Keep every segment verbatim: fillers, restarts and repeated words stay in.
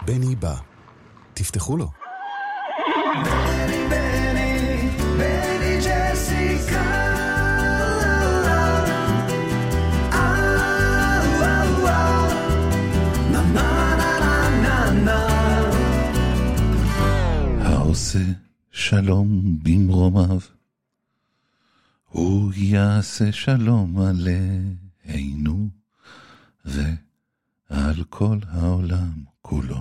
בני בא. תפתחו לו. בני, בני, בני ג'סיקה. העושה שלום במרומיו, הוא יעשה שלום עלינו ועל כל העולם כולו,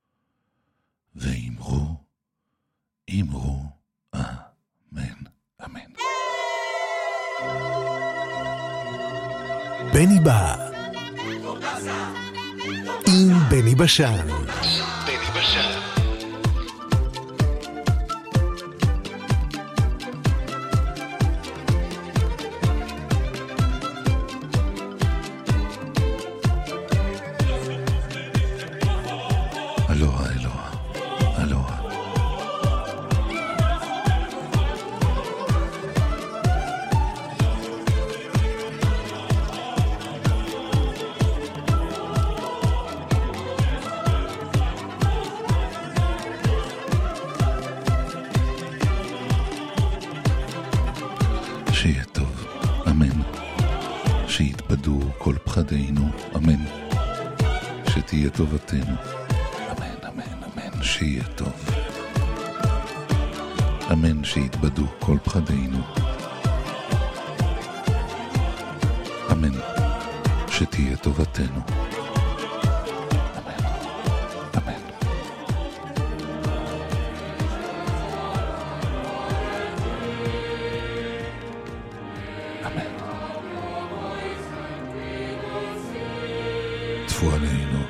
ואמרו, אמרו, אמן, אמן. בני בא עם בני בשן. בני בשן. אלוהה, אלוהה, אלוהה. שיהיה טוב, אמן. שיתבדו כל פחדינו, אמן. שתהיה טובתנו, שיהיה טוב. אמן, שיתבדו כל פחדינו. אמן, שתהיה טובתנו. אמן, אמן. אמן. טפו עלינו.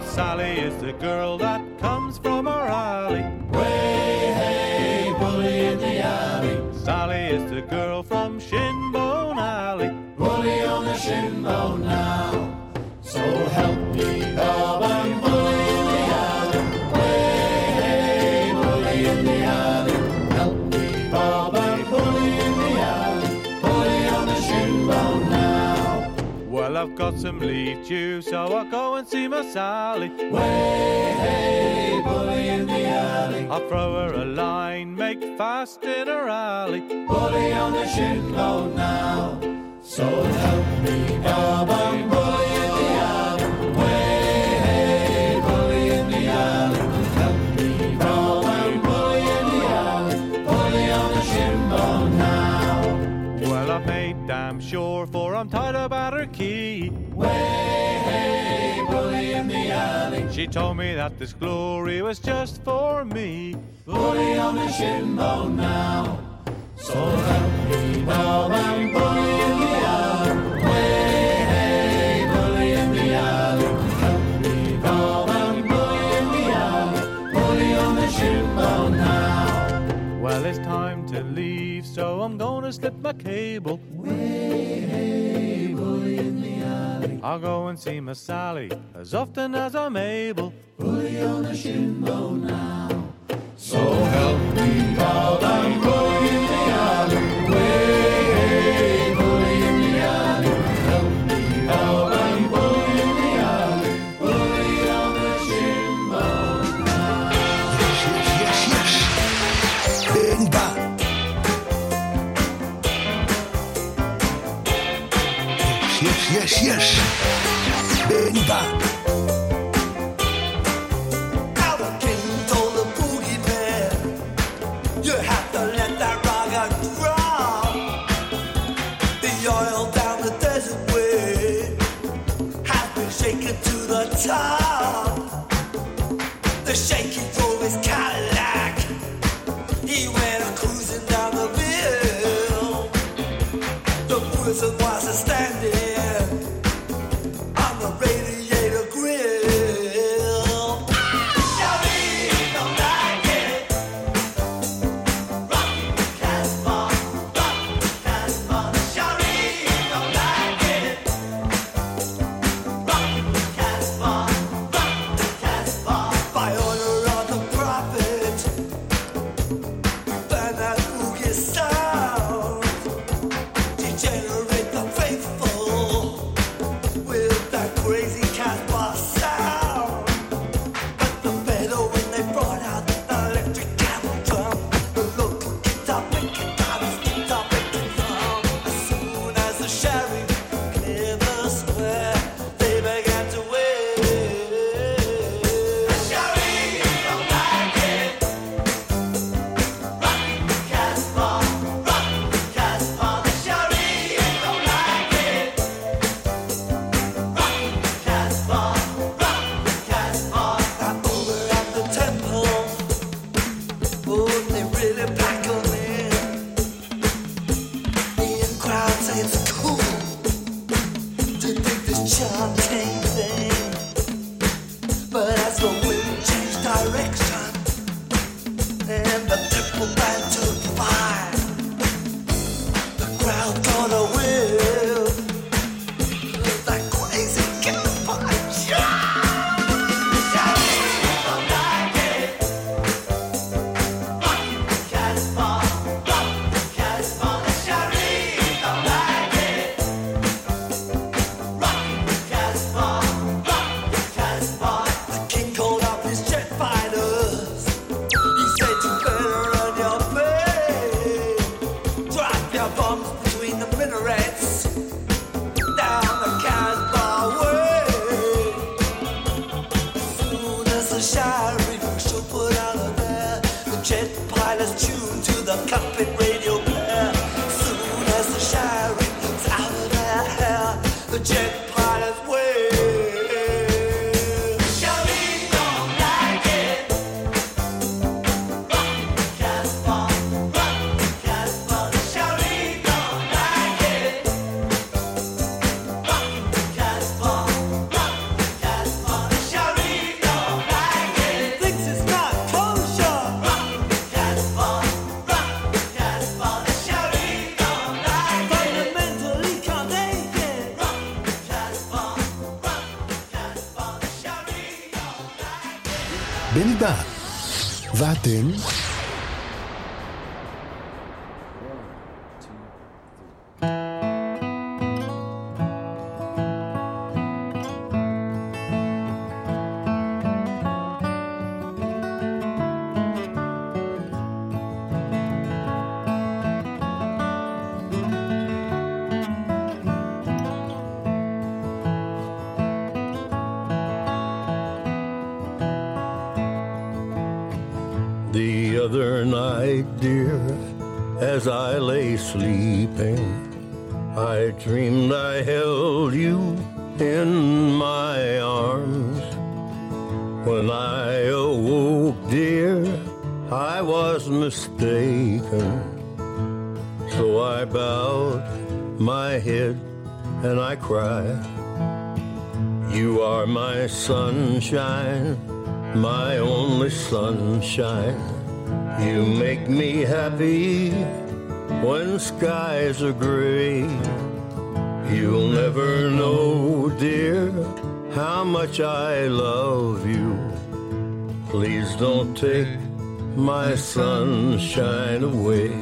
Sally is the girl that comes from our alley. Way, hey, bully in the alley. Sally is the girl from Shinbone Alley. Bully on the shinbone now. So help me, Bob, I'm bully in the alley. Way, hey, bully in the alley. Help me, Bob, I'm bully in the alley. Bully on the shinbone now. Well, I've got some leave due, so I'll go and see my Sally. Way, hey, bully in the alley. I'll throw her a line, make fast in her alley. Bully on the shinbone now. So help me, Bob, I'm bully in the alley. Way, hey, bully in the alley. Help me, Bob, I'm bully in the alley. Bully on the shinbone now. Well, I've made damn sure, for I'm tired about her key. Way, hey, bully in the alley. She told me that this glory was just for me. Bully on the shinbone now. So help me, Bob, I'm bully in the alley. Way, hey, bully in the alley. Help me, Bob, I'm bully in the alley. Bully on the shinbone now. Well, it's time to leave, so I'm gonna slip my cable. Way, hey, bully in the alley. I'll go and see my Sally as often as I'm able. Bully on the shinbone now. So help me, Bob, I'm bully in the alley. Way, hey, bully in the alley. Help me, Bob, I'm bully in the alley. Bully on the shinbone now. Yes, yes, yes. Benny Bang. Yes, yes, yes. Benny Bang. Top. The shaky drove his Cadillac. He went a cruising down the hill. The Wizard was a standing on the radiator grill. Shawty don't like it. Rock the Casbah, rock the Casbah. Shawty don't like it. Rock the Casbah. By order of the prophet, burn that boogie sound, degenerate the faithful with that crazy Casbah sound. But the better when they brought out the electric camel drum, the local guitar picking guitars, guitar picking drum. As soon as the sheriff cleared the square, they began to wave. Shawty בני בא. ואתם? The other night, dear, as I lay sleeping, I dreamed I held you in my arms. When I awoke, dear, I was mistaken. So I bowed my head and I cried. You are my sunshine, my only sunshine. You make me happy when skies are gray. You'll never know, dear, how much I love you. Please don't take my sunshine away.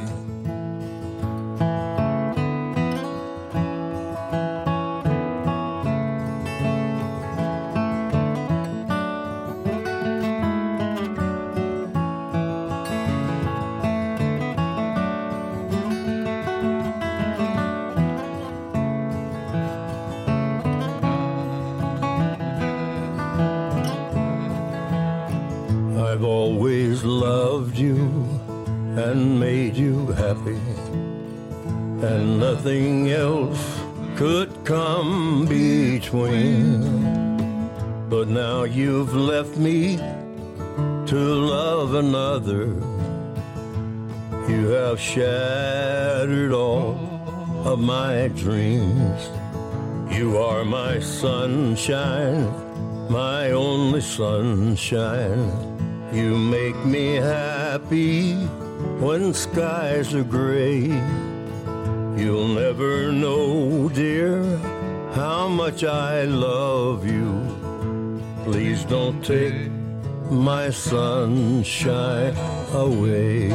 I've always loved you and made you happy, and nothing else could come between. But now you've left me to love another. You have shattered all of my dreams. You are my sunshine, my only sunshine. You make me happy when skies are gray. You'll never know, dear, how much I love you. Please don't take my sunshine away.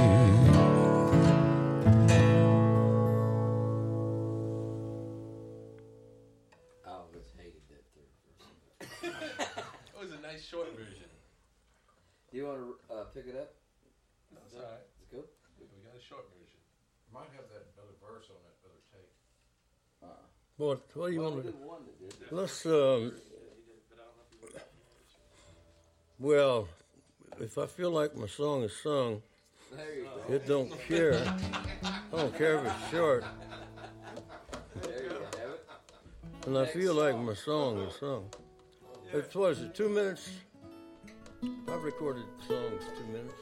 Always hated that third verse. It was a nice short version. Do you want to uh, pick it up? That's all right. It's good. We got a short version. Might have that other verse on that other tape. Uh, What, what do you well, want we to did one that did. Let's, um, well, if I feel like my song is sung, There you go. it don't care. I don't care if it's short. There you have it. And I feel like my song is sung. It's, what is it, two minutes? I've recorded songs two minutes.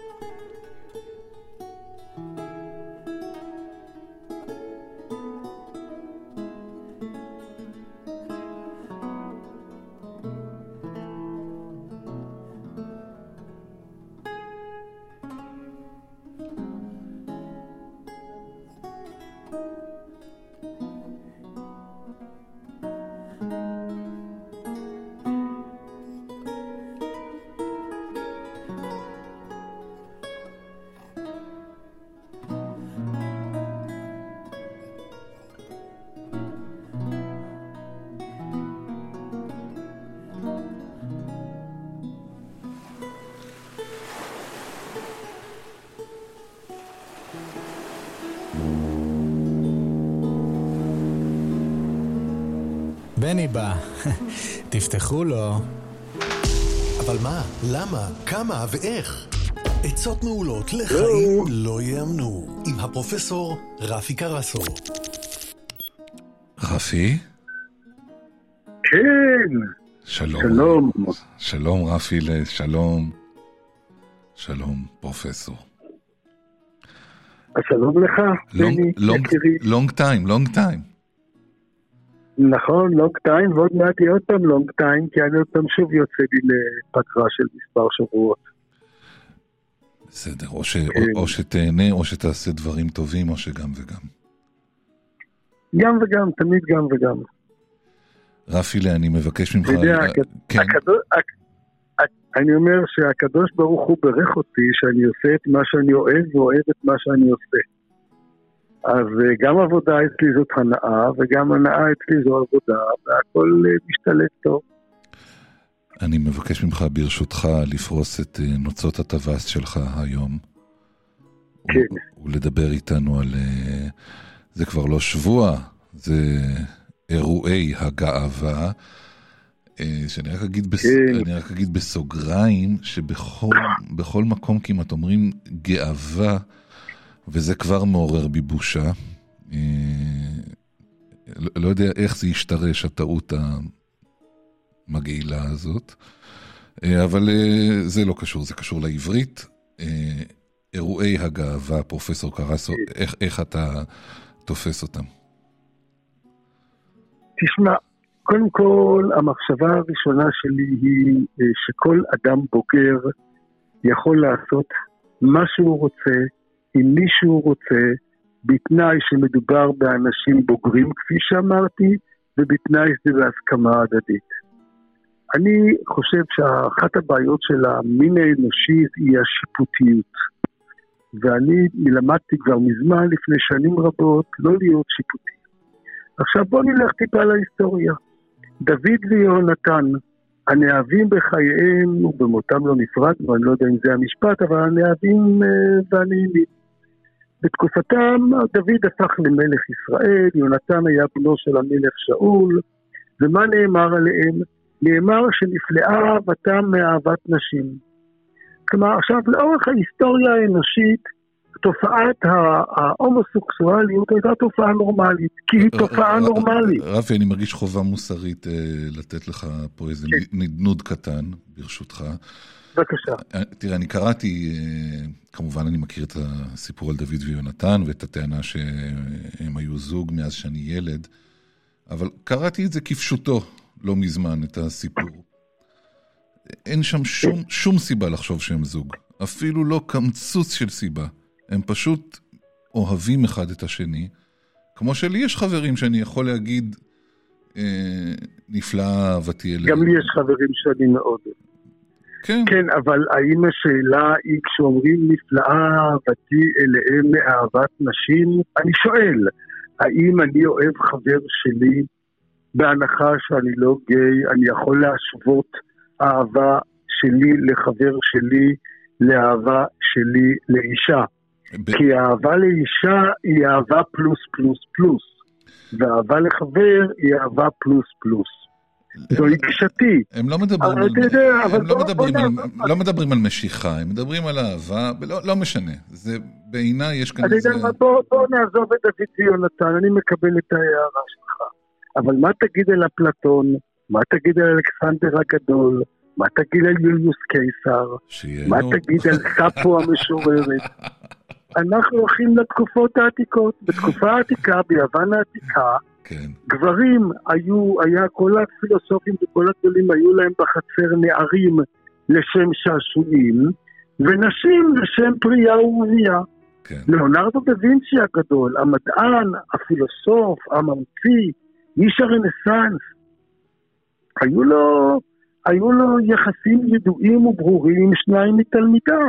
בני בא, תפתחו לו. אבל מה? למה? כמה? ואיך? עצות מעולות לחיים לא יאמנו, עם הפרופסור רפי קרסו. רפי? כן. שלום. שלום. שלום רפי, שלום. שלום פרופסור. שלום לך, בני, יקירי. לונג טיים, לונג טיים. נכון, לונג טיים, ועוד מעט יהיה עוד פעם לונג טיים, כי אני עוד פעם שוב יוצא לי לפגרה של מספר שבועות. בסדר, או, ש, כן. או, או שתהנה, או שתעשה דברים טובים, או שגם וגם. גם וגם, תמיד גם וגם. רפילה, אני מבקש ממך... אתה יודע, כן. הכדור, אני אומר שהקדוש ברוך הוא ברך אותי שאני עושה את מה שאני אוהב ואוהב את מה שאני עושה. אז גם עבודה אצלי זאת הנאה, וגם הנאה אצלי זו עבודה, והכל משתלט טוב. אני מבקש ממך ברשותך לפרוס את נוצות הטווס שלך היום. כן. ולדבר איתנו על... זה כבר לא שבוע, זה אירועי הגאווה, שאני רק אגיד, בס... אני רק אגיד בסוגריים, שבכל בכל מקום כמעט אומרים גאווה, וזה כבר מעורר בי בושה. לא יודע איך זה ישתרש, הטעות המגעילה הזאת, אבל זה לא קשור, זה קשור לעברית. אירועי הגאווה, פרופסור קרסו, איך, איך אתה תופס אותם? תשמע, קודם כל, המחשבה הראשונה שלי היא שכל אדם בוגר יכול לעשות מה שהוא רוצה, עם מי שהוא רוצה, בתנאי שמדובר באנשים בוגרים, כפי שאמרתי, ובתנאי שזה בהסכמה הדדית. אני חושב שאחת הבעיות של המין האנושי היא השיפוטיות. ואני למדתי כבר מזמן, לפני שנים רבות, לא להיות שיפוטי. עכשיו בוא נלך טיפה להיסטוריה. דוד ויהונתן, הנאהבים בחייהם ובמותם לא נפרד, ואני לא יודע אם זה המשפט, אבל הנאהבים והנעימים. בתקופתם דוד הפך למלך ישראל, יהונתן היה בנו של המלך שאול, ומה נאמר עליהם? נאמר שנפלאה אהבתם מאהבת נשים. כלומר, עכשיו לאורך ההיסטוריה האנושית, תופעת ההומוסקסואליות הייתה תופעה נורמלית, כי היא תופעה נורמלית. רפי, אני מרגיש חובה מוסרית לתת לך פה איזה נדנוד קטן, ברשותך. בבקשה. תראה, אני קראתי, כמובן אני מכיר את הסיפור על דוד ויונתן, ואת הטענה שהם היו זוג מאז שאני ילד, אבל קראתי את זה כפשוטו לא מזמן, את הסיפור. אין שם שום, שום סיבה לחשוב שהם זוג. אפילו לא קמצוץ של סיבה. הם פשוט אוהבים אחד את השני. כמו שלי יש חברים שאני יכול להגיד, אה, נפלאה אהבתי אליהם. גם לי יש חברים שאני מאוד. כן. כן, אבל האם השאלה היא כשאומרים נפלאה אהבתי אליהם מאהבת נשים? אני שואל, האם אני אוהב חבר שלי בהנחה שאני לא גיי, אני יכול להשוות אהבה שלי לחבר שלי לאהבה שלי לאישה. ב... כי האהבה לאישה היא אהבה פלוס פלוס פלוס, ואהבה לחבר היא אהבה פלוס פלוס. זו גישתי. הם לא מדברים על יודע, הם לא לא מדברים על בוא... לא מדברים על משיכה, הם מדברים על אהבה, לא, לא משנה. זה בעיניי יש כאן אני איזה... יודע, בוא, בוא נעזוב את דוד ויונתן, אני מקבל את ההערה שלך. אבל מה תגיד על אפלטון? מה תגיד על אלכסנדר הגדול? מה תגיד על יוליוס קיסר? מה תגיד על ספו המשוררת? אנחנו הולכים לתקופות העתיקות. בתקופה העתיקה, ביוון העתיקה, כן. גברים היו, היה כל הפילוסופים וכל הגדולים היו להם בחצר נערים לשם שעשועים, ונשים לשם פרייה ורבייה. כן. ליאונרדו דה וינצ'י הגדול, המדען, הפילוסוף, הממציא, איש הרנסנס, היו לו, היו לו יחסים ידועים וברורים עם שניים מתלמידיו.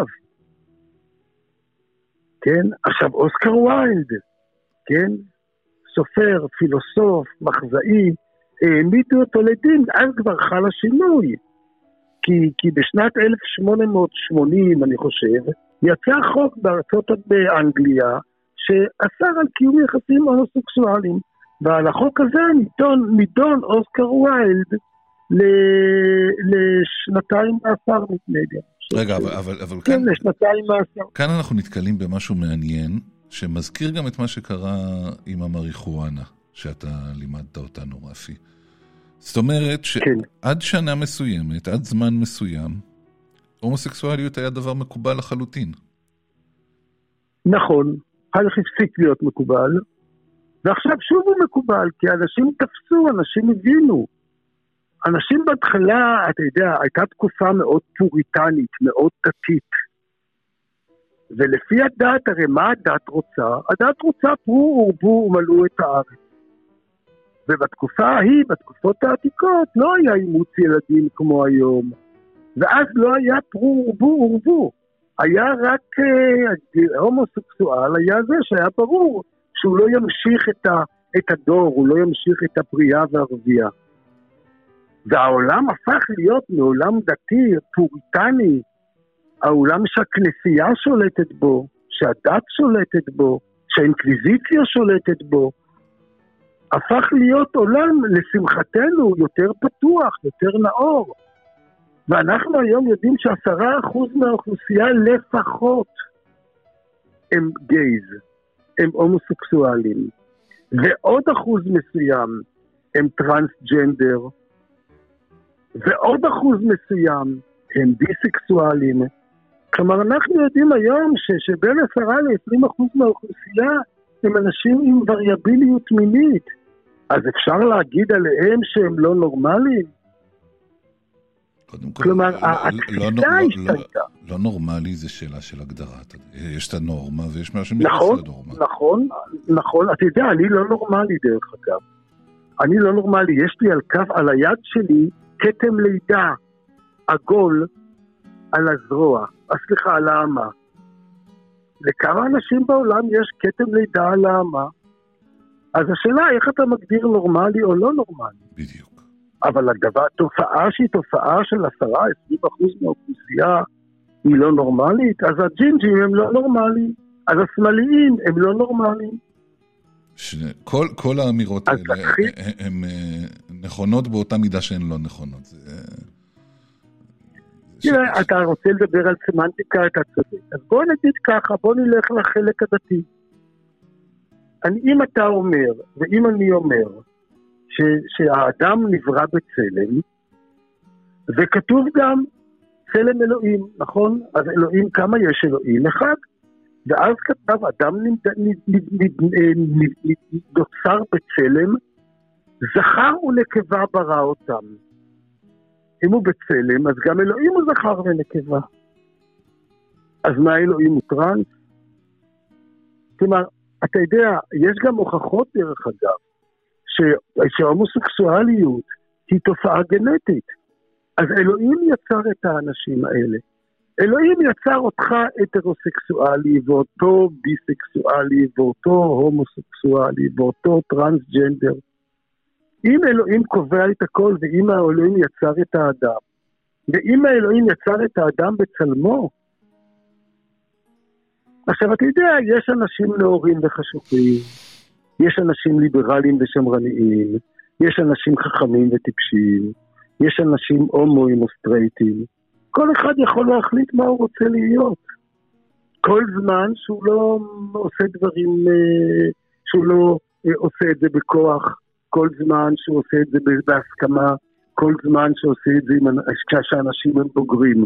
כן? עכשיו, אוסקר ויילד, כן? סופר, פילוסוף, מחזאי, העמידו אותו לדין, אז כבר חל השינוי. כי, כי בשנת אלף שמונה מאות שמונים, אני חושב, יצא חוק בארצות באנגליה, שאסר על קיום יחסים הומוסקסואליים. ועל החוק הזה נידון, נידון אוסקר ויילד לשנתיים מאסר נתנדיה. רגע, אבל, אבל, אבל כן, כאן, לשנתיים מאסר. כאן אנחנו נתקלים במשהו מעניין, שמזכיר גם את מה שקרה עם המריחואנה, שאתה לימדת אותנו, רפי. זאת אומרת שעד שנה מסוימת, עד זמן מסוים, הומוסקסואליות היה דבר מקובל לחלוטין. נכון, הלך הפסיק להיות מקובל, ועכשיו שוב הוא מקובל, כי אנשים תפסו, אנשים הבינו. אנשים בהתחלה, אתה יודע, הייתה תקופה מאוד פוריטנית, מאוד דתית. ולפי הדת, הרי מה הדת רוצה? הדת רוצה פרו ורבו ומלאו את הארץ. ובתקופה ההיא, בתקופות העתיקות, לא היה אימוץ ילדים כמו היום. ואז לא היה פרו ורבו ורבו. היה רק אה, הומוסקסואל, היה זה שהיה ברור שהוא לא ימשיך את, ה, את הדור, הוא לא ימשיך את הפרייה והרבייה. והעולם הפך להיות מעולם דתי, פוריטני, העולם שהכנסייה שולטת בו, שהדת שולטת בו, שהאינקוויזיציה שולטת בו, הפך להיות עולם, לשמחתנו, יותר פתוח, יותר נאור. ואנחנו היום יודעים שעשרה אחוז מהאוכלוסייה לפחות הם גייז, הם הומוסקסואלים, ועוד אחוז מסוים הם טרנסג'נדר, ועוד אחוז מסוים הם ביסקסואלים. כלומר, אנחנו יודעים היום ש- שבין עשרה ל-עשרים אחוז מהאוכלוסייה הם אנשים עם וריאביליות מינית. אז אפשר להגיד עליהם שהם לא נורמליים? קודם כל, כלומר, לא, התפיסה לא, לא, השתנתה. לא, לא נורמלי זה שאלה של הגדרה. יש את הנורמה ויש מה שמתייחס נכון, לנורמה. נכון, נכון. אתה יודע, אני לא נורמלי דרך אגב. אני לא נורמלי. יש לי על כף, על היד שלי, כתם לידה, עגול, על הזרוע. סליחה, על האמה. לכמה אנשים בעולם יש כתם לידה על האמה? אז השאלה, איך אתה מגדיר נורמלי או לא נורמלי? בדיוק. אבל הדבר, תופעה שהיא תופעה של עשרה, עשרים אחוז מהאוכלוסייה היא לא נורמלית, אז הג'ינג'ים הם לא נורמליים, אז השמאליים הם לא נורמליים. שני, כל, כל האמירות האלה הן נכונות באותה מידה שהן לא נכונות. זה... תראה, אתה רוצה לדבר על סמנטיקה, אתה צודק. אז בוא נגיד ככה, בוא נלך לחלק הדתי. אני, אם אתה אומר, ואם אני אומר, ש, שהאדם נברא בצלם, וכתוב גם צלם אלוהים, נכון? אז אלוהים, כמה יש אלוהים? אחד. ואז כתב, אדם נוצר בצלם, זכר ונקבה ברא אותם. אם הוא בצלם, אז גם אלוהים הוא זכר ונקבה. אז מה אלוהים הוא טרנס? כלומר, אתה יודע, יש גם הוכחות דרך אגב, שההומוסקסואליות היא תופעה גנטית. אז אלוהים יצר את האנשים האלה. אלוהים יצר אותך הטרוסקסואלי, ואותו ביסקסואלי, ואותו הומוסקסואלי, ואותו טרנסג'נדר. אם אלוהים קובע את הכל, ואם האלוהים יצר את האדם, ואם האלוהים יצר את האדם בצלמו, עכשיו אתה יודע, יש אנשים נאורים וחשוכים, יש אנשים ליברליים ושמרניים, יש אנשים חכמים וטיפשיים, יש אנשים הומואים או סטרייטים, כל אחד יכול להחליט מה הוא רוצה להיות. כל זמן שהוא לא עושה דברים, שהוא לא עושה את זה בכוח, כל זמן שהוא עושה את זה בהסכמה, כל זמן שהוא עושה את זה כשאנשים הם בוגרים.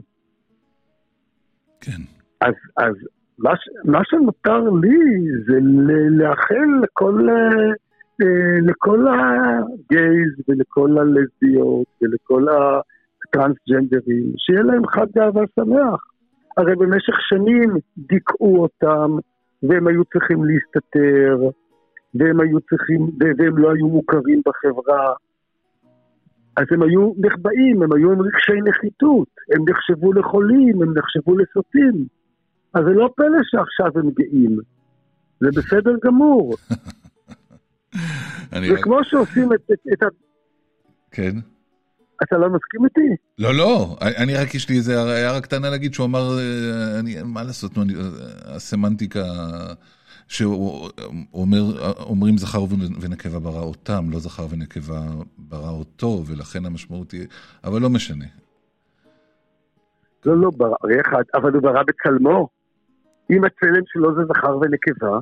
כן. אז, אז מה, מה שנותר לי זה לאחל לכל, לכל הגייז ולכל הלסביות ולכל הטרנסג'נדרים, שיהיה להם חג גאווה שמח. הרי במשך שנים דיכאו אותם, והם היו צריכים להסתתר, והם היו צריכים, והם לא היו מוכרים בחברה. אז הם היו נחבאים, הם היו עם רגשי נחיתות, הם נחשבו לחולים, הם נחשבו לסוטים. אז זה לא פלא שעכשיו הם גאים. זה בסדר גמור. זה כמו שעושים את, את, את ה... כן. אתה לא מסכים איתי? לא, לא. אני רק, יש לי איזה הערה קטנה להגיד, שהוא אמר, אני, מה לעשות, הסמנטיקה, שאומרים זכר ונקבה ברא אותם, לא זכר ונקבה ברא אותו, ולכן המשמעות היא, אבל לא משנה. לא, לא, ברא, אחד, אבל הוא ברא בצלמו. אם הצלם שלו זה זכר ונקבה,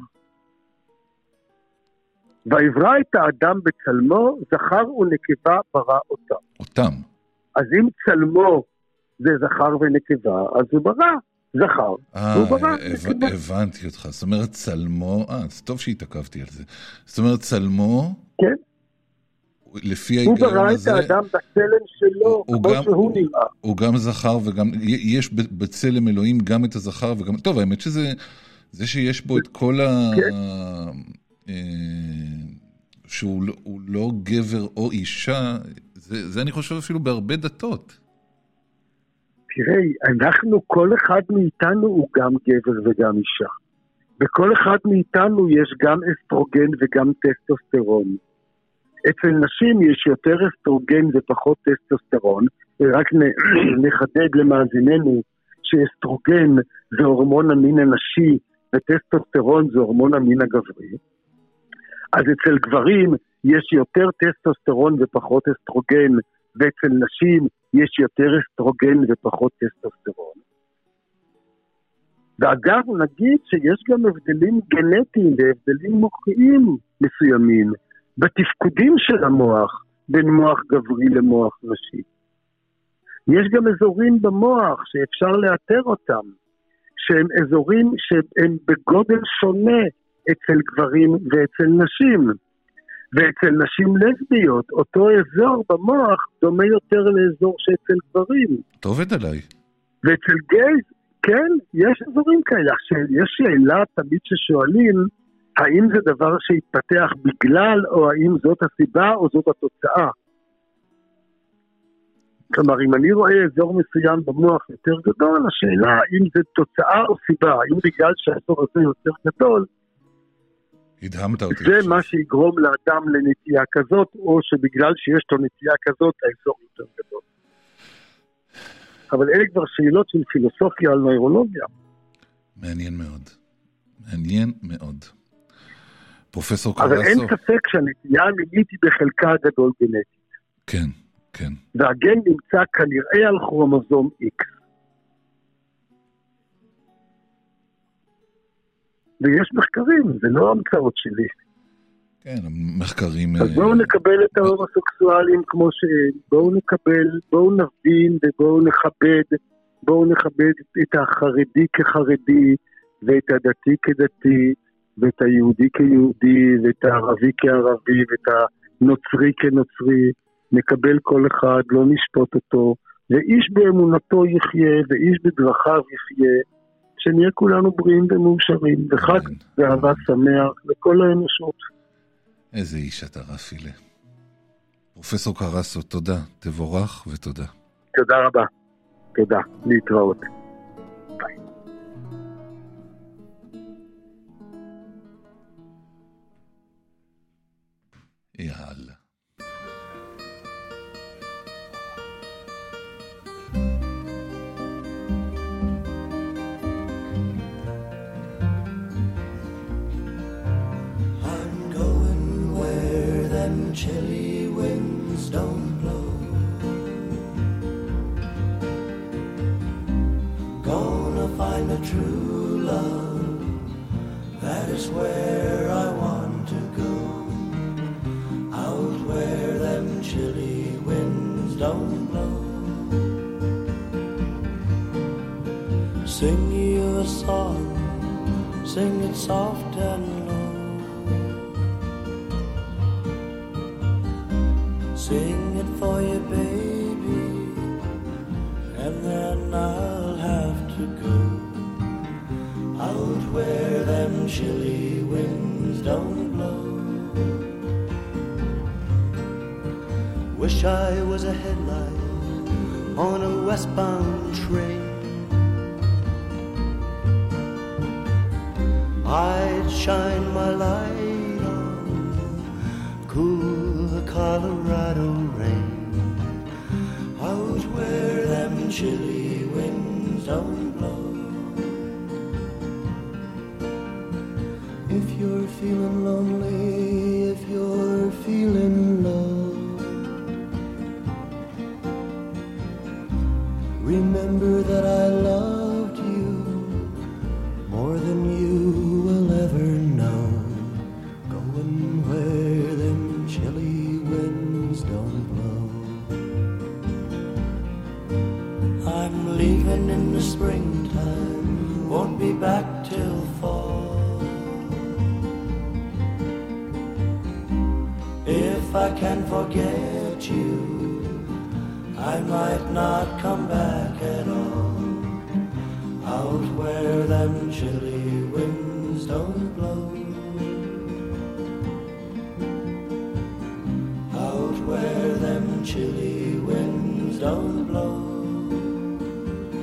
ויברא את האדם בצלמו, זכר ונקבה ברא אותם. אותם. אז אם צלמו זה זכר ונקבה, אז הוא ברא זכר. אה, הבנתי אותך. זאת אומרת, צלמו, אה, זה טוב שהתעכבתי על זה. זאת אומרת, צלמו, כן. לפי ההיגיון הזה, הוא ברא את האדם בצלם שלו, כמו שהוא נראה. הוא גם זכר וגם, יש בצלם אלוהים גם את הזכר וגם, טוב, האמת שזה, זה שיש בו את כל ה... שהוא לא גבר או אישה, זה אני חושב אפילו בהרבה דתות. תראי, אנחנו, כל אחד מאיתנו הוא גם גבר וגם אישה. בכל אחד מאיתנו יש גם אסטרוגן וגם טסטוסטרון. אצל נשים יש יותר אסטרוגן ופחות טסטוסטרון, רק נחדד למאזיננו שאסטרוגן זה הורמון המין הנשי וטסטוסטרון זה הורמון המין הגברי. אז אצל גברים יש יותר טסטוסטרון ופחות אסטרוגן, ואצל נשים יש יותר אסטרוגן ופחות טסטוסטרון. ואגב, נגיד שיש גם הבדלים גנטיים והבדלים מוחיים מסוימים בתפקודים של המוח בין מוח גברי למוח נשי. יש גם אזורים במוח שאפשר לאתר אותם, שהם אזורים שהם בגודל שונה אצל גברים ואצל נשים. ואצל נשים לסביות, אותו אזור במוח דומה יותר לאזור שאצל גברים. טוב עד עליי. ואצל גייז, כן, יש אזורים כאלה. יש שאלה תמיד ששואלים, האם זה דבר שהתפתח בגלל, או האם זאת הסיבה, או זאת התוצאה. כלומר, אם אני רואה אזור מסוים במוח יותר גדול, השאלה האם זה תוצאה או סיבה, האם בגלל שהאזור הזה יותר גדול, הדהמת אותי. זה מה שיגרום לאדם לנטייה כזאת, או שבגלל שיש לו נטייה כזאת, האזור יותר גדול. אבל אלה כבר שאלות של פילוסופיה על נוירולוגיה. מעניין מאוד. מעניין מאוד. פרופסור קרסו. אבל אין ספק שהנטייה המינית היא בחלקה הגדול גנטית. כן, כן. והגן נמצא כנראה על כרומוזום X. ויש מחקרים, זה לא המצאות שלי. כן, מחקרים... אז בואו נקבל את ההומוסקסואלים כמו ש... בואו נקבל, בואו נבין ובואו נכבד, בואו נכבד את החרדי כחרדי, ואת הדתי כדתי, ואת היהודי כיהודי, ואת הערבי כערבי, ואת הנוצרי כנוצרי. נקבל כל אחד, לא נשפוט אותו, ואיש באמונתו יחיה, ואיש בדרכיו יחיה, שנהיה כולנו בריאים ומאושרים, וחג ואהבה שמח לכל האנושות. איזה איש אתה רפילה. פרופסור קרסו, תודה, תבורך ותודה. תודה רבה, תודה, להתראות. ביי. יאללה. Chilly winds don't blow. Gonna find a true love, that is where I want to go. Out where them chilly winds don't blow. Sing you a song, sing it soft and low. Sing it for you, baby, and then I'll have to go out where them chilly winds don't blow. Wish I was a headlight on a westbound train. I'd shine my light on cool Colorado rain, out where them chilly winds don't blow. If you're feeling lonely, if you're feeling low, remember that I loved you more than you will ever know. Going where them chilly don't blow. I'm leaving in the springtime, won't be back till fall. If I can forget you, I might not come back at all. Out where them chilly winds don't blow. Where them chilly winds don't blow.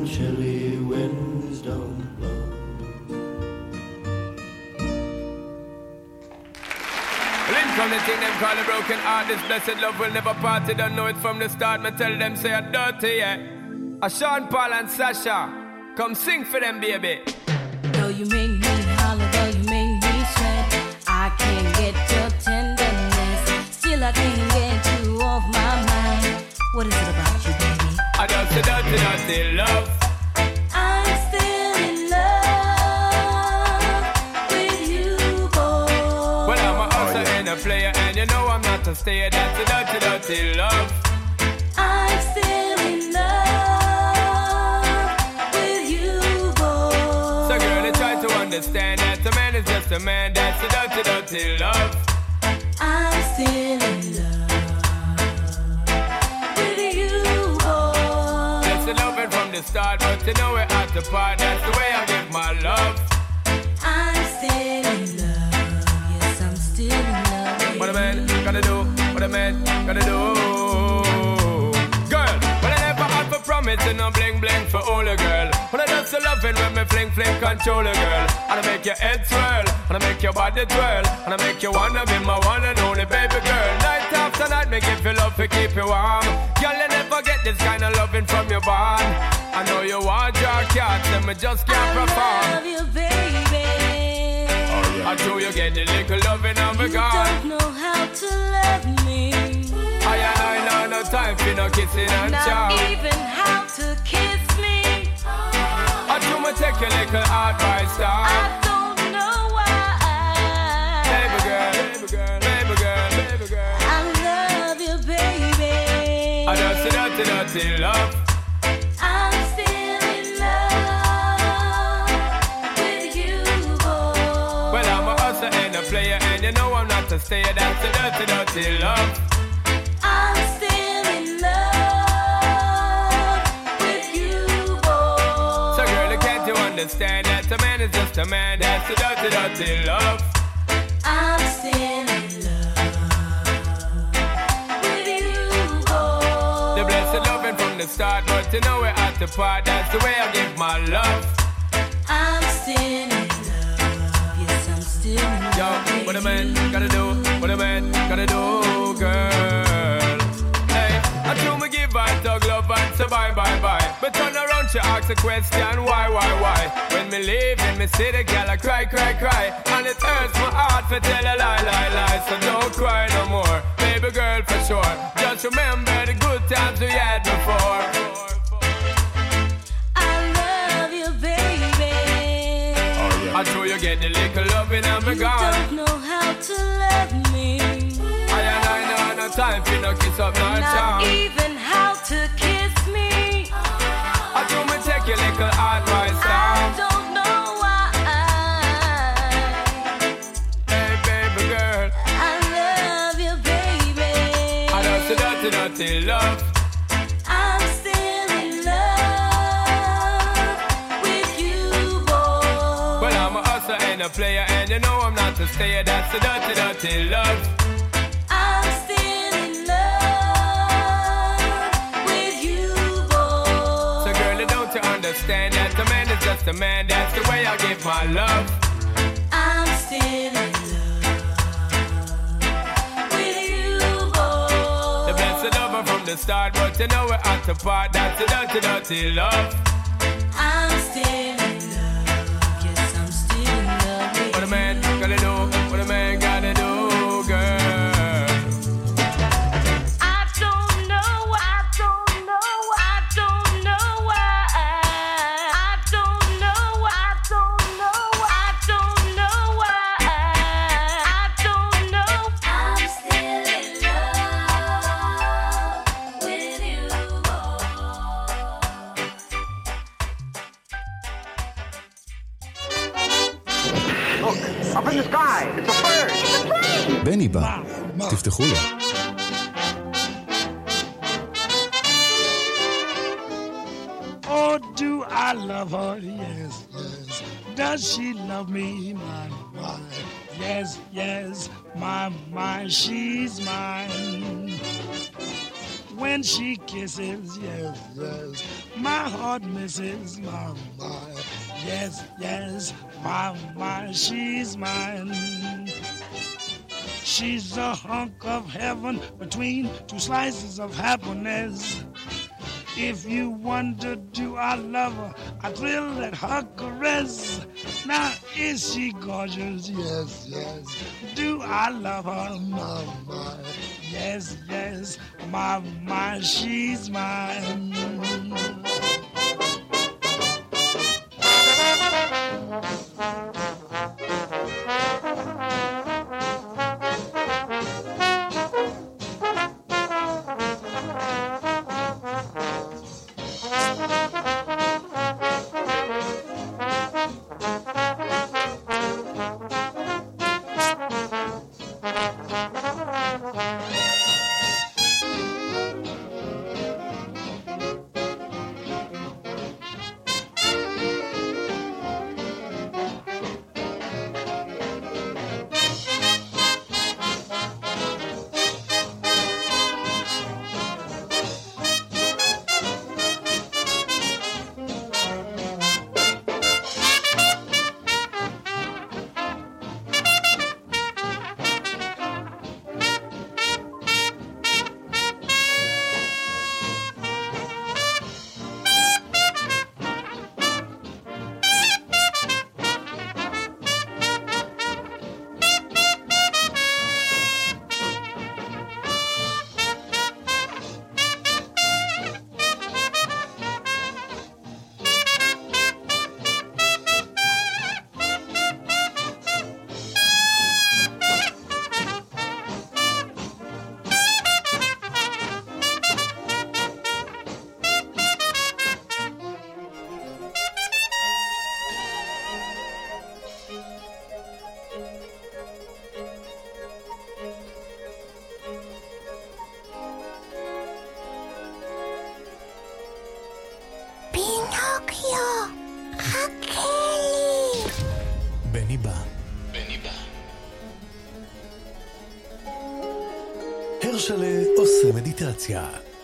chilly winds don't blow. From the thing them call a broken heart, this blessed love will never part. They don't know it from the start. Me tell them say I'm dirty, yeah. A Sean Paul and Sasha, come sing for them, baby. Though you make me holler, though you make me sweat, I can't get your tenderness. Still I can't get you off my mind. What is it about you, baby? I just a dirty, dirty love. I'm still in love with you, boy. Well, I'm a hustler and a player, and you know I'm not a stayer. That's a dirty, dirty love. I'm still in love with you, boy. So girl, I try to understand that a man is just a man. That's a dirty, dirty love. I'm still in love with you, boy. That's the loving from the start, but you know we're at the part. That's the way I give my love. I'm still in love. Yes, I'm still in love. What a man gotta do, what a man gotta do. Girl, but I never had for promise and no bling bling for all a girl. But I just loving when me fling fling control a girl. And I make your head swirl, and I make your body twirl, and I make you wanna be my one and only baby girl. Night after night, make you feel love to keep you warm. Girl, you never get this kind of loving from your bond. I know you want your cat, and me just can't perform. I love you, baby. I know you get the little loving of me You gone. don't know how to love me. I and I know no time for no kissing and Not chow. even how to kiss me. I do me take your little advice down. I don't know why. Baby girl, baby girl, baby girl, baby girl. I love you, baby. I just a dirty, dirty love. I'm still in love with you, boy. Well, I'm a hustler and a player, and you know I'm not a stayer. That's a dirty, dirty love. I'm still in love with you, boy. So girl, can't you understand that a man is just a man? That's a dirty, dirty love. I'm still in love with you, boy. The blessed loving from the start, but you know we're at the part. That's the way I give my love. I'm still in love. Yes, I'm still in love. Yo, what a man gotta do, what a man gotta do, girl. Hey, I do me give her dog love and say bye, bye, bye. But turn around, she ask a question, why, why, why? When me leave in me city, girl, I cry, cry, cry. And it hurts my heart to tell a lie, lie, lie. So don't cry no more, baby girl, for sure. Just remember the good times we had before. I love you, baby. I know you get the little loving and me You gone. don't know how to love me. I and I know no time for no kiss up, no Not charm. even how to kiss me. I do me take your little advice I down. don't know why. Hey baby girl, I love you, baby. I know so dirty, dirty love. I'm still in love with you, boy. Well, I'm a hustler and a player, and you know I'm not a stayer. That's a dirty, dirty love. I'm still in love with you, boy. So girl, don't you understand that a man is just a man? That's the way I give my love. I'm still in love with you, boy. The blessed lover from the start, but you know we're at the part. That's a dirty, dirty love. I'm still in love. Yes, I'm still in love with What a man gotta do, what a man gotta do, girl. I don't know, I don't know, I don't know why. I don't know, I don't know, I don't know why. I don't know. I'm still in love with you, Look, up in the sky, it's a bird. It's a plane. בני בא, תפתחו לו. Oh, do I love her? Yes, yes. Does she love me? My, my. Yes, yes. My, my. She's mine. when she kisses, yes, yes. My heart misses, my, my, yes, yes, my, my, she's mine. She's a hunk of heaven between two slices of happiness. If you wonder, do I love her? I thrill at her caress. Now, is she gorgeous? Yes, yes. Do I love her? My, my. Yes, yes. My, my, she's mine. בני בא. בני בא. הרשלה עושה מדיטציה.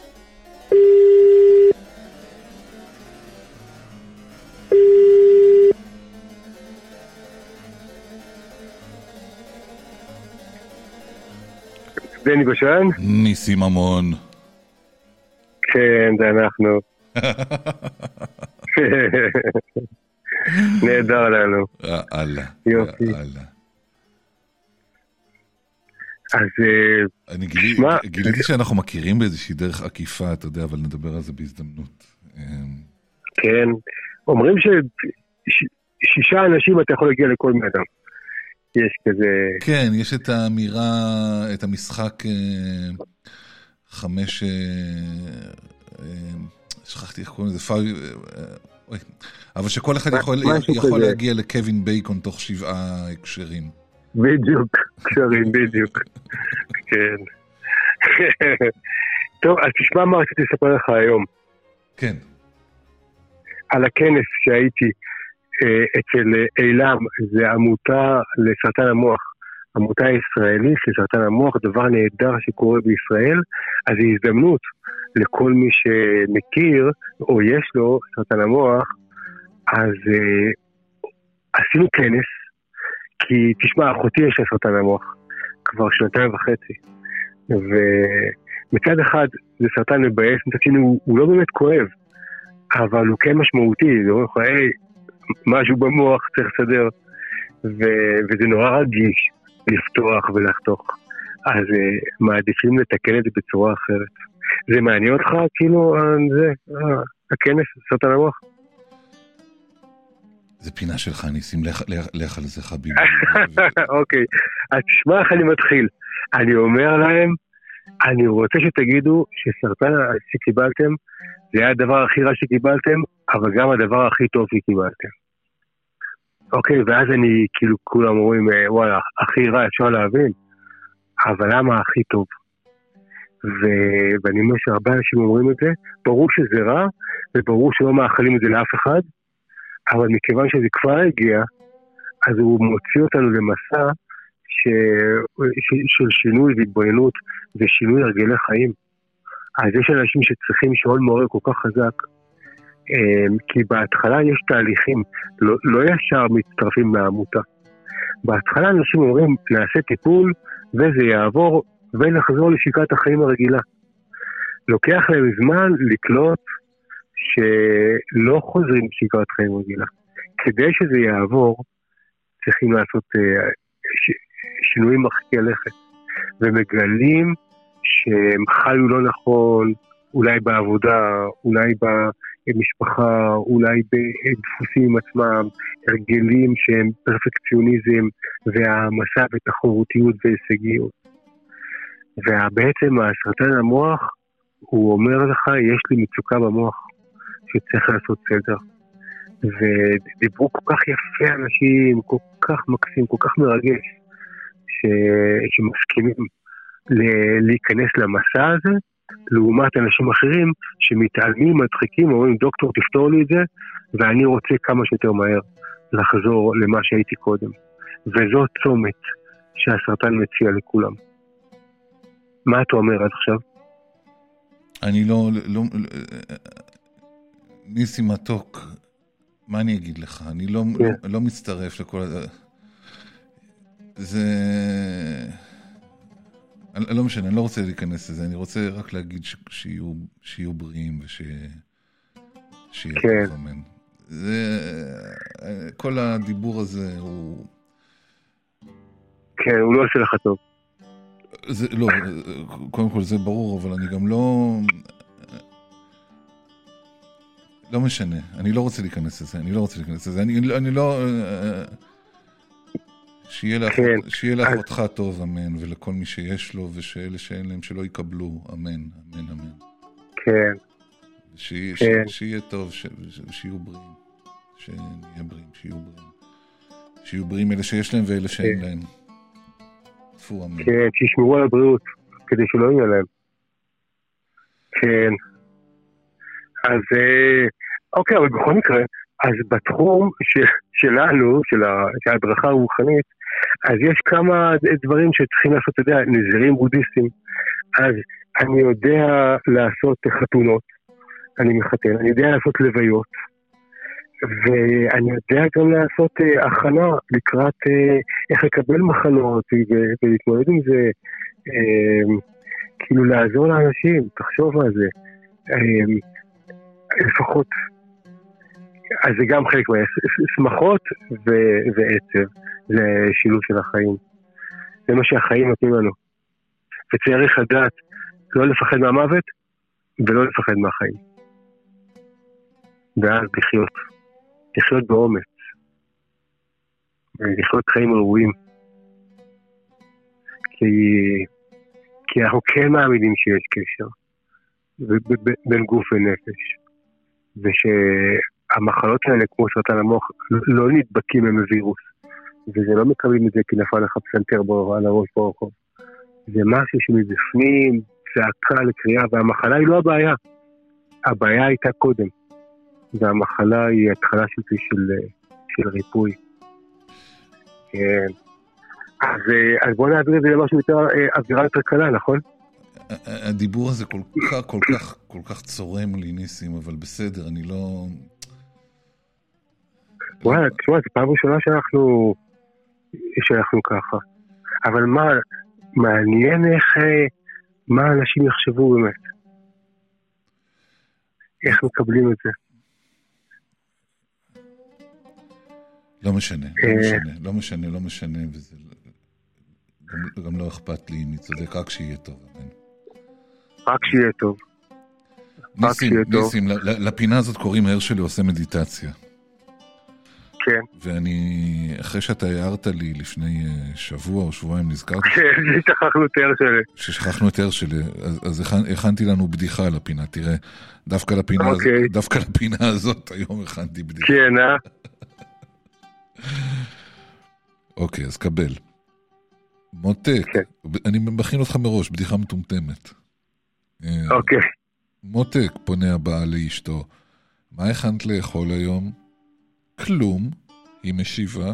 בני גושן? ניסים ממון. כן, זה אנחנו. נהדר לנו. אללה. יופי. אז אני גיליתי שאנחנו מכירים באיזושהי דרך עקיפה, אתה יודע, אבל נדבר על זה בהזדמנות. כן, אומרים ששישה אנשים אתה יכול להגיע לכל מאדם. יש כזה... כן, יש את האמירה, את המשחק חמש... שכחתי איך קוראים לזה, אבל שכל אחד יכול, יכול להגיע לקווין בייקון תוך שבעה הקשרים. בדיוק, קשרים, בדיוק. כן. טוב, אז תשמע מה רציתי לספר לך היום. כן. על הכנס שהייתי אצל אילם, זה עמותה לסרטן המוח. עמותה ישראלית לסרטן המוח, דבר נהדר שקורה בישראל, אז זו הזדמנות לכל מי שמכיר, או יש לו סרטן המוח, אז uh, עשינו כנס, כי תשמע, אחותי יש לה סרטן המוח, כבר שנתיים וחצי, ומצד אחד זה סרטן מבאס, מצד שני הוא, הוא לא באמת כואב, אבל הוא כן משמעותי, זה אומר לך, היי, משהו במוח צריך לסדר, ו- וזה נורא רגיש לפתוח ולחתוך, אז uh, מעדיפים לתקן את זה בצורה אחרת. זה מעניין אותך, כאילו, זה, הכנס, סרטן המוח? זה פינה שלך, ניסים, לך על זה חביבי. אוקיי, אז תשמע איך אני מתחיל. אני אומר להם, אני רוצה שתגידו שסרטן שקיבלתם, זה היה הדבר הכי רע שקיבלתם, אבל גם הדבר הכי טוב שקיבלתם. אוקיי, ואז אני, כאילו, כולם אומרים, וואלה, הכי רע אפשר להבין, אבל למה הכי טוב? ו- ואני אומר שהרבה אנשים אומרים את זה, ברור שזה רע, וברור שלא מאחלים את זה לאף אחד, אבל מכיוון שזה כבר הגיע, אז הוא מוציא אותנו למסע ש- ש- של שינוי והתבוננות, ושינוי הרגלי חיים. אז יש אנשים שצריכים שעון מעורר כל כך חזק, כי בהתחלה יש תהליכים, לא, לא ישר מצטרפים לעמותה. בהתחלה אנשים אומרים, נעשה טיפול וזה יעבור ונחזור לשגרת החיים הרגילה. לוקח להם זמן לקלוט שלא חוזרים לשגרת חיים רגילה. כדי שזה יעבור, צריכים לעשות ש... שינויים מרחיקי לכת, ומגלים שהם חיו לא נכון, אולי בעבודה, אולי במשפחה, אולי בדפוסים עצמם, הרגלים שהם פרפקציוניזם, והמסע בתחרותיות והישגיות. ובעצם הסרטן המוח, הוא אומר לך, יש לי מצוקה במוח, שצריך לעשות סדר. ודיברו כל כך יפה אנשים, כל כך מקסים, כל כך מרגש, ש... שמסכימים ל... להיכנס למסע הזה, לעומת אנשים אחרים שמתעלמים, מדחיקים, אומרים, דוקטור תפתור לי את זה, ואני רוצה כמה שיותר מהר לחזור למה שהייתי קודם. וזו צומת שהסרטן מציע לכולם. מה אתה אומר עד עכשיו? אני לא, לא, ניסי מתוק, מה אני אגיד לך? אני לא, yeah. לא, לא מצטרף לכל הזה. זה... לא משנה, אני לא רוצה להיכנס לזה, אני רוצה רק להגיד ש... שיהיו, שיהיו בריאים וש... שיהיה כן. טוב, אמן. זה... כל הדיבור הזה הוא... כן, הוא לא עושה לך טוב. זה, לא, קודם כל זה ברור, אבל אני גם לא... לא משנה, אני לא רוצה להיכנס לזה, אני לא רוצה להיכנס לזה, אני, אני לא... שיהיה לך, כן. שיהיה לך אותך טוב, אמן, ולכל מי שיש לו, ושאלה שאין להם שלא יקבלו, אמן, אמן, אמן. כן. שיהיה, כן. ש, שיהיה טוב, ש, שיהיו בריאים, שנהיה בריאים, שיהיו בריאים. שיהיו בריאים אלה שיש להם ואלה שאין כן. להם. תפו, אמן. כן, שישמרו על הבריאות, כדי שלא יהיה להם. כן. אז, אוקיי, אבל בכל מקרה, אז בתחום ש, שלנו, של, ה, של ההדרכה הרוחנית, אז יש כמה דברים שצריכים לעשות, אתה יודע, נזירים בודהיסטים. אז אני יודע לעשות חתונות, אני מחתן, אני יודע לעשות לוויות, ואני יודע גם לעשות uh, הכנה לקראת uh, איך לקבל מחלות ו- ולהתמודד עם זה, uh, כאילו לעזור לאנשים, תחשוב על זה, uh, לפחות, אז זה גם חלק מהשמחות ו- ועצב, זה שילוב של החיים, זה מה שהחיים נותנים לנו, וצריך לדעת לא לפחד מהמוות ולא לפחד מהחיים, ואז לחיות. לחיות באומץ, לחיות חיים ראויים, כי, כי אנחנו כן מאמינים שיש קשר בין גוף ונפש, ושהמחלות האלה כמו סרטן המוח לא נדבקים עם וירוס, וזה לא מקבלים את זה כי נפל לך פסנתר על הראש ברחוב, זה משהו שמבפנים צעקה לקריאה, והמחלה היא לא הבעיה, הבעיה הייתה קודם, והמחלה היא התחלה של, של, של ריפוי. כן. אז, אז בוא נעביר את זה למשהו יותר אווירה יותר קלה, נכון? הדיבור הזה כל כך, כל כך, כל כך צורם לי, ניסים, אבל בסדר, אני לא... וואלה, תשמע, זו פעם ראשונה שאנחנו, שאנחנו ככה. אבל מה, מעניין איך, מה אנשים יחשבו באמת? איך מקבלים את זה? לא משנה, לא משנה, לא משנה, לא משנה, וזה גם, גם לא אכפת לי אם היא צודק, רק שיהיה טוב, אמן. רק שיהיה טוב. ניסים, ניסים, לפינה הזאת קוראים הרשלי עושה מדיטציה. כן. ואני, אחרי שאתה הערת לי לפני שבוע או שבועיים, נזכרתי... כן, שכחנו את הרשלי. ששכחנו את הרשלי, אז, אז הכנתי לנו בדיחה על הפינה, תראה, דווקא לפינה, אוקיי. הזאת, דווקא לפינה הזאת היום הכנתי בדיחה. כן, אה? אוקיי, אז קבל. מותק, אני מכין אותך מראש, בדיחה מטומטמת. אוקיי. מותק, פונה הבעל לאשתו, מה הכנת לאכול היום? כלום, היא משיבה.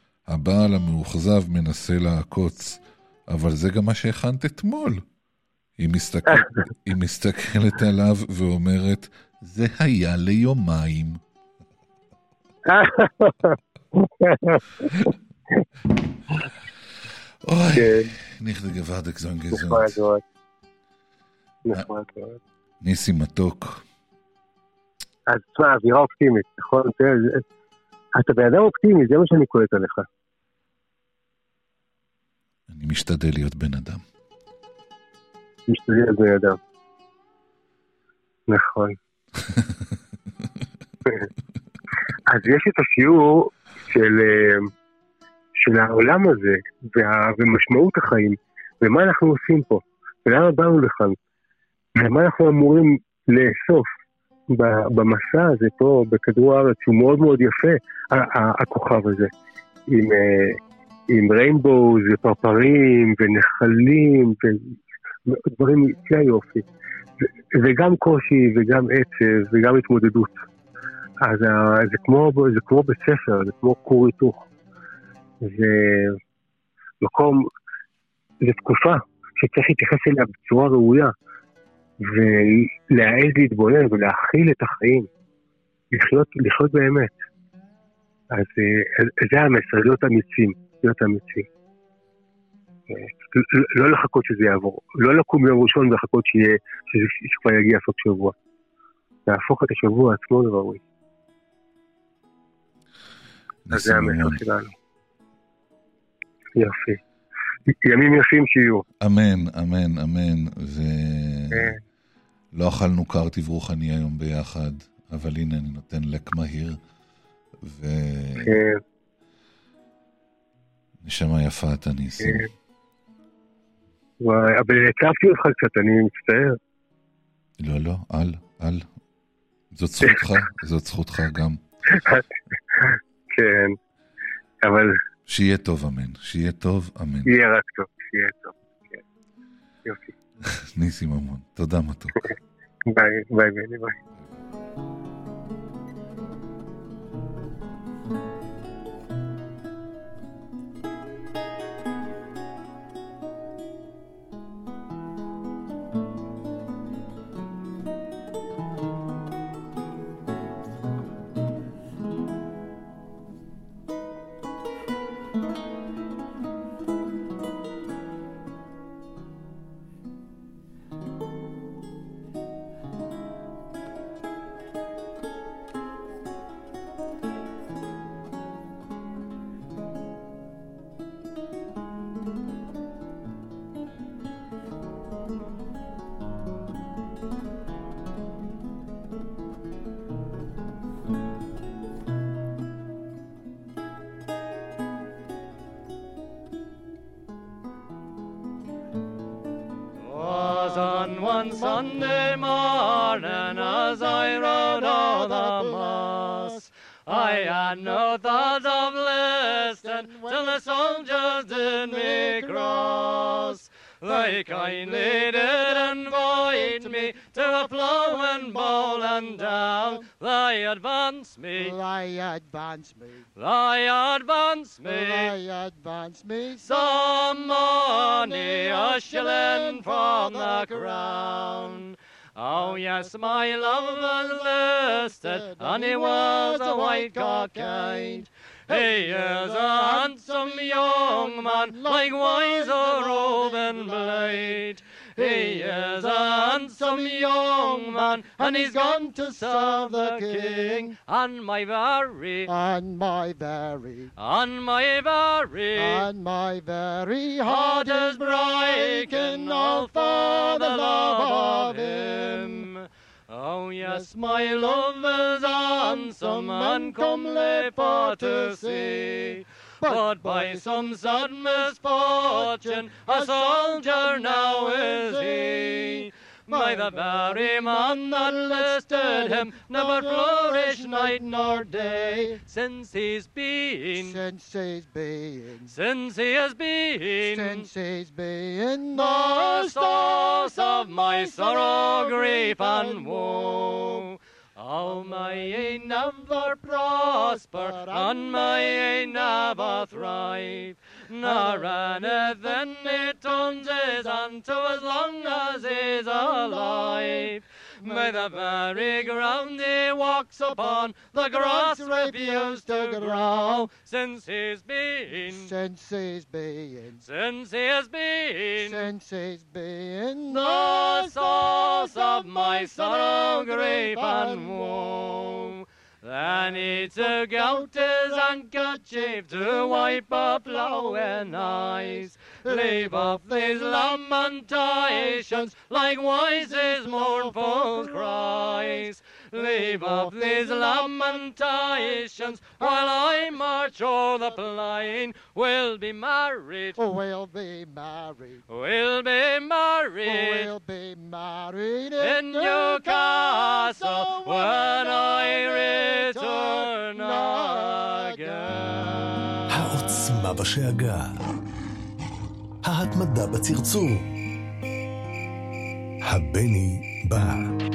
הבעל המאוכזב מנסה לעקוץ, אבל זה גם מה שהכנת אתמול. היא, מסתכל, היא מסתכלת עליו ואומרת, זה היה ליומיים. אוי, נכדה גווארדק זון גזון. ניסי מתוק. אז תשמע, אווירה אופטימית, נכון? אתה באדם אופטימי, זה מה שאני קולט עליך. אני משתדל להיות בן אדם. משתדל להיות בן אדם. נכון. אז יש את השיעור של, של העולם הזה, וה, ומשמעות החיים, ומה אנחנו עושים פה, ולמה באנו לכאן, ומה אנחנו אמורים לאסוף במסע הזה פה בכדור הארץ, שהוא מאוד מאוד יפה, הכוכב הזה, עם, עם ריינבוז ופרפרים ונחלים ודברים יפי יופי, וגם קושי וגם עצב וגם התמודדות. אז זה כמו, זה כמו בית ספר, זה כמו כור היתוך. זה מקום, זה תקופה שצריך להתייחס אליה בצורה ראויה, ולהעז להתבונן ולהכיל את החיים, לחיות, לחיות באמת. אז זה המסר, להיות אמיצים, להיות אמיצים. לא לחכות שזה יעבור, לא לקום ביום ראשון ולחכות שיהיה, שכבר יגיע סוף שבוע. להפוך את השבוע עצמו לראוי. אז זה המסר שלנו. יופי. ימים יפים שיהיו. אמן, אמן, אמן. ולא אכלנו קר תברוכני היום ביחד, אבל הנה אני נותן לק מהיר. ו... נשמה יפה אתה ניסים. וואי, אבל הצפתי אותך קצת, אני מצטער. לא, לא, אל, אל. זאת זכותך, זאת זכותך גם. כן, אבל... שיהיה טוב, אמן. שיהיה טוב, אמן. שיהיה רק טוב, שיהיה טוב. כן. יופי. ניסים המון. תודה מתוק. ביי, ביי, ביי, ביי. One Sunday morning as I rode o'er the moss, I had no thought of listening till the soldiers did me cross. They kindly did invite me to a ploughing bowl and down. They advanced me, they advanced me, they advanced me, they advanced me. Some money, a shilling from the crown. Oh yes, my love was listed, and he was a white cockade. He is a handsome young man, likewise a roving blade. He is a handsome young man, and he's gone to serve the king. And my very, and my very, and my very, and my very heart is breaking all for the love of him. Oh yes, my love is handsome and comely for to see. But by some sad misfortune, a soldier now is he. By the very man that listed him, never flourished night nor day. Since he's been, since he's been, since he has been, since he's been the source of my sorrow, grief and woe. Oh, my ain never prosper, and my ain never thrive. Nor anything it turns his hand to as long as he's alive. By the very ground he walks upon, the grass refused to grow. Since he's been, Since he's been, since he has been, since he's been the source of my sorrow, grief and woe. Then he took out his handkerchief to wipe up flowing eyes. Leave off these lamentations, likewise his mournful cries. Leave off these lamentations, while I march o'er the plain. We'll be married, we'll be married, we'll be married, we'll be married in Newcastle when I return again. העוצמה בשאגה, ההתמדה בצרצור, הבני בא.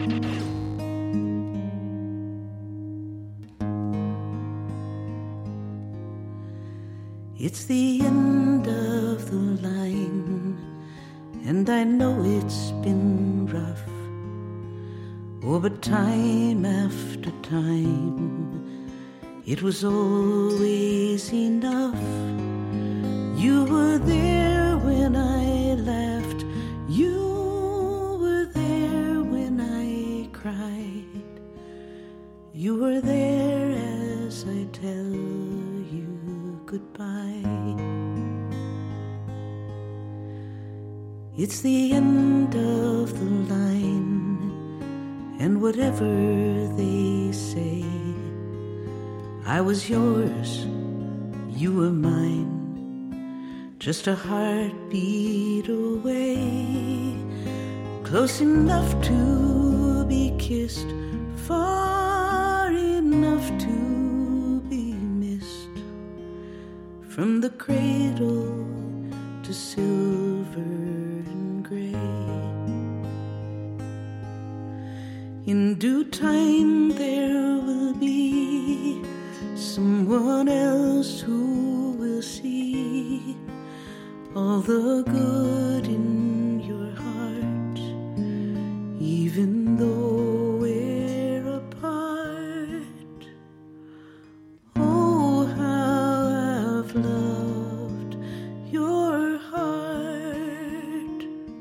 It's the end of the line, and I know it's been rough. Oh, but time after time, it was always enough. You were there when I laughed, you were there when I cried, you were there as I tell you goodbye. It's the end of the line, and whatever they say, I was yours, you were mine, just a heartbeat away, close enough to be kissed, far enough to be missed, from the cradle to silver and gray. In due time there will be someone else who will see all the good in your heart, even though we're apart. Oh, how I've loved your heart.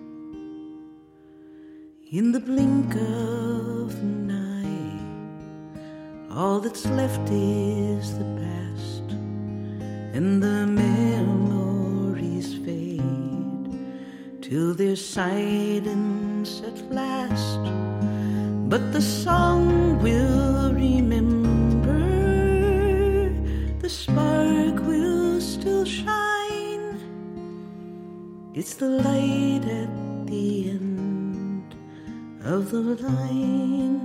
In the blink of an eye, all that's left is the past, and the memories fade till there's silence at last. But the song will remember, the spark will still shine. It's the light at the end of the line.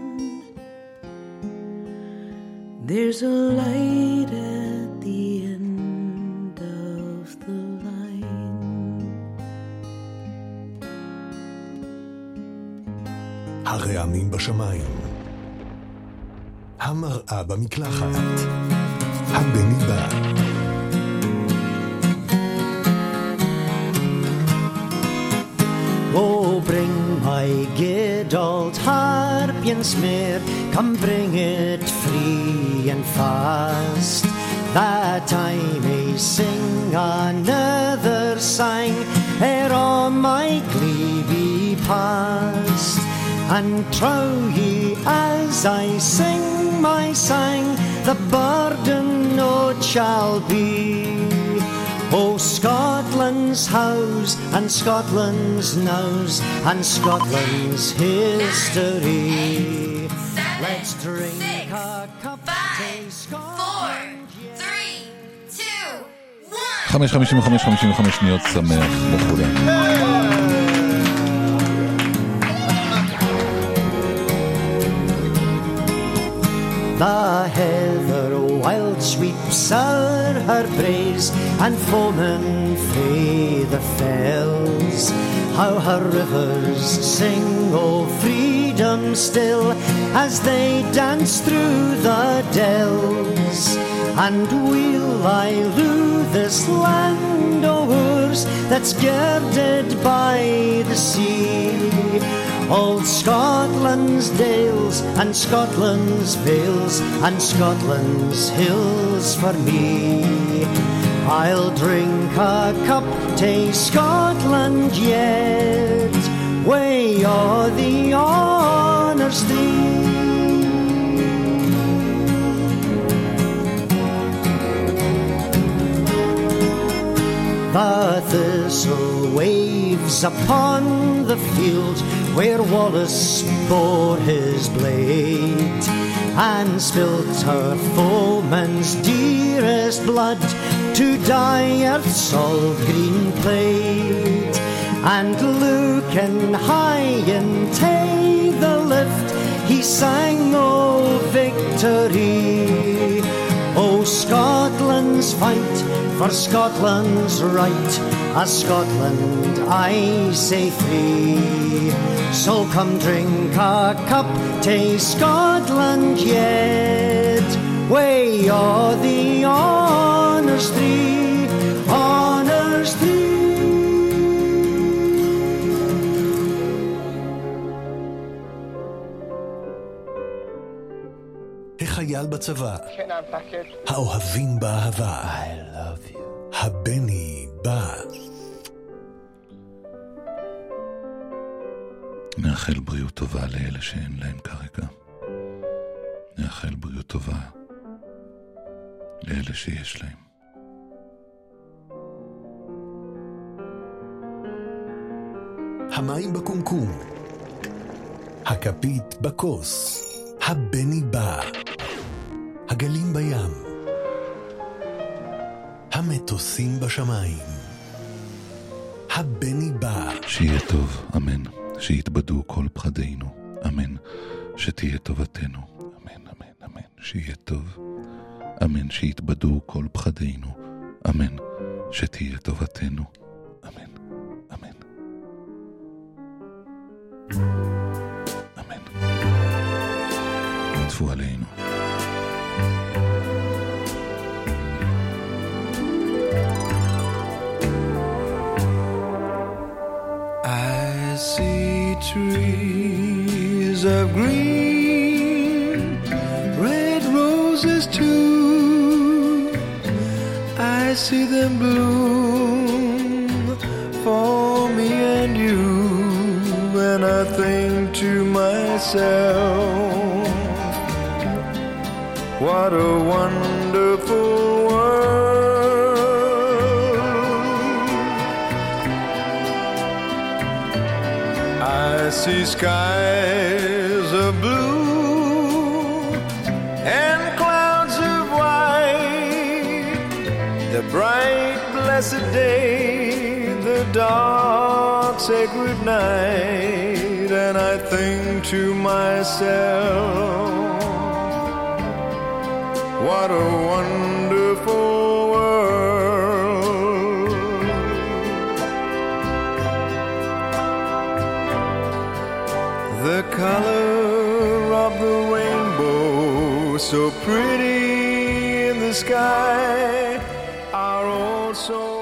There's a light at the end of the line. הרעמים בשמיים, המראה במקלחת, הבני בא. Oh, bring my good old harpensmeer, come bring it free and fast, that I may sing another sang ere on my glee be past. And trow ye as I sing my sang, the burden no shall be. Oh, Scotland's house and Scotland's nose and Scotland's history. Let's drink six, a cup five, four, three, two, one. חמש חמישים וחמש חמישים וחמש שניות שמח לכולם. The heather wild sweeps o'er her braes, and foaming frae the fells, how her rivers sing o' freedom them still as they dance through the dells. And we'll lie rue this land o' ours that's girded by the sea. Old Scotland's dales and Scotland's vales and Scotland's hills for me. I'll drink a cup to Scotland yet, way o'er the honours three. The thistle waves upon the field where Wallace bore his blade, and spilt her foeman's dearest blood to dye earth's salt green plate. And looking high into the lift, he sang o' victory. O Scotland's fight for Scotland's right, a Scotland I say free. So come drink a cup to Scotland yet, way o'er the honours three, honours three. החייל בצבא, האוהבים באהבה, הבני בא. נאחל בריאות טובה לאלה שאין להם כרגע. נאחל בריאות טובה לאלה שיש להם. המים בקומקום, הכפית בכוס, הבני בא, הגלים בים, המטוסים בשמיים, הבני בא. שיהיה טוב, אמן. שיתבדו כל פחדינו, אמן. שתהיה טובתנו, אמן, אמן, אמן. שיהיה טוב, אמן. שיתבדו כל פחדינו, אמן. שתהיה טובתנו, אמן, אמן. אמן. עטפו עלינו. I see trees of green, red roses too. I see them bloom for me and you, and I think to myself, what a wonderful world. I see skies of blue and clouds of white, the bright blessed day, the dark sacred night, and I think to myself, what a wonderful world. The color of the rainbow, so pretty in the sky, are also